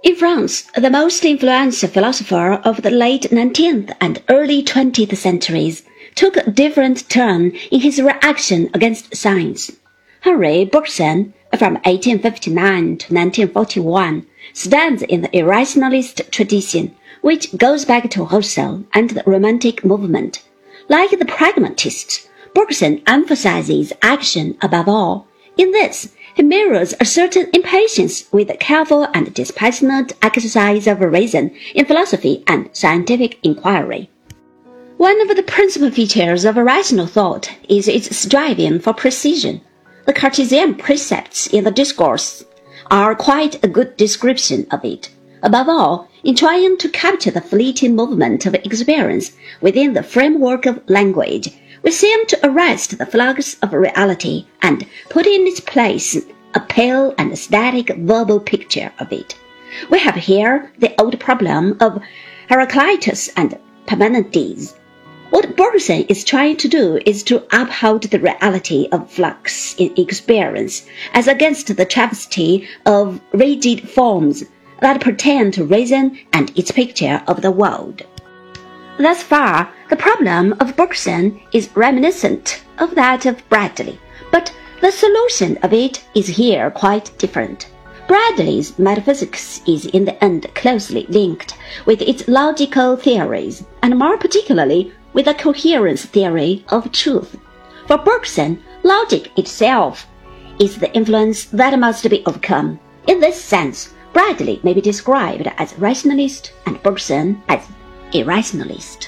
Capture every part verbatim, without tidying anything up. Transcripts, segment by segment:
In France, the most influential philosopher of the late nineteenth and early twentieth centuries took a different turn in his reaction against science. Henri Bergson, from eighteen fifty-nine to nineteen forty-one, stands in the irrationalist tradition, which goes back to Husserl and the Romantic movement. Like the pragmatists, Bergson emphasizes action above all. In this, he mirrors a certain impatience with the careful and dispassionate exercise of reason in philosophy and scientific inquiry. One of the principal features of rational thought is its striving for precision. The Cartesian precepts in the Discourse are quite a good description of it. Above all, in trying to capture the fleeting movement of experience within the framework of language, we seem to arrest the flux of reality and put in its place a pale and static verbal picture of it. We have here the old problem of Heraclitus and Parmenides. What Bergson is trying to do is to uphold the reality of flux in experience as against the travesty of rigid forms that pertain to reason and its picture of the world. Thus far, the problem of Bergson is reminiscent of that of Bradley, but the solution of it is here quite different. Bradley's metaphysics is in the end closely linked with its logical theories, and more particularly with the coherence theory of truth. For Bergson, logic itself is the influence that must be overcome. In this sense, Bradley may be described as rationalist and Bergson as irrationalist.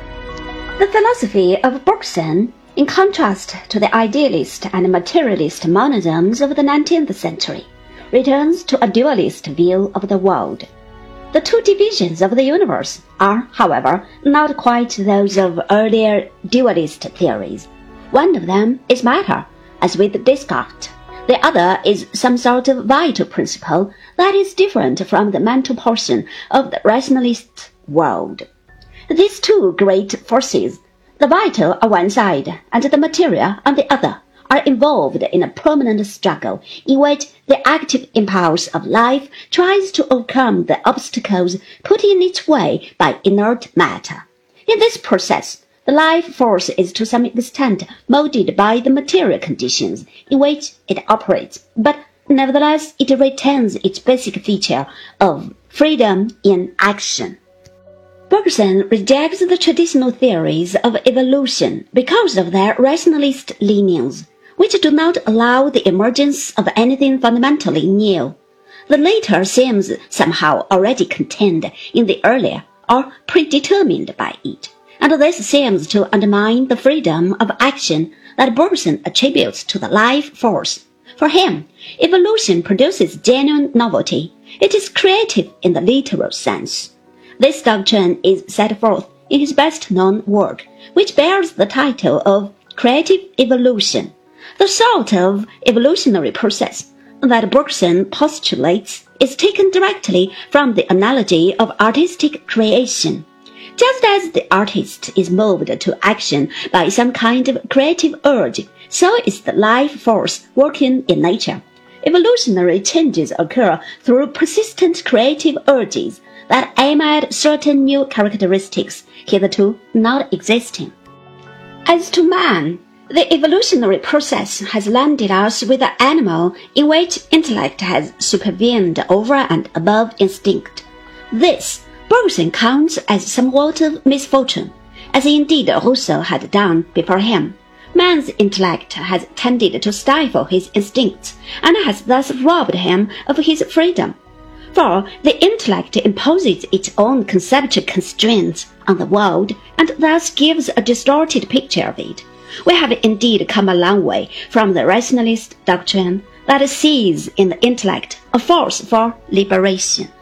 The philosophy of Bergson, in contrast to the idealist and materialist monisms of the nineteenth century, returns to a dualist view of the world. The two divisions of the universe are, however, not quite those of earlier dualist theories. One of them is matter, as with Descartes. The other is some sort of vital principle that is different from the mental portion of the rationalist world. These two great forces, the vital on one side and the material on the other, are involved in a permanent struggle in which the active impulse of life tries to overcome the obstacles put in its way by inert matter. In this process, the life force is to some extent molded by the material conditions in which it operates, but nevertheless it retains its basic feature of freedom in action. Bergson rejects the traditional theories of evolution because of their rationalist leanings, which do not allow the emergence of anything fundamentally new. The latter seems somehow already contained in the earlier, or predetermined by it, and this seems to undermine the freedom of action that Bergson attributes to the life force. For him, evolution produces genuine novelty. It is creative in the literal sense. This doctrine is set forth in his best-known work, which bears the title of Creative Evolution. The sort of evolutionary process that Bergson postulates is taken directly from the analogy of artistic creation. Just as the artist is moved to action by some kind of creative urge, so is the life force working in nature. Evolutionary changes occur through persistent creative urges that aim at certain new characteristics hitherto not existing. As to man, the evolutionary process has landed us with an animal in which intellect has supervened over and above instinct. This Bergson counts as somewhat of misfortune, as indeed Rousseau had done before him. Man's intellect has tended to stifle his instincts, and has thus robbed him of his freedom. For the intellect imposes its own conceptual constraints on the world, and thus gives a distorted picture of it. We have indeed come a long way from the rationalist doctrine that sees in the intellect a force for liberation.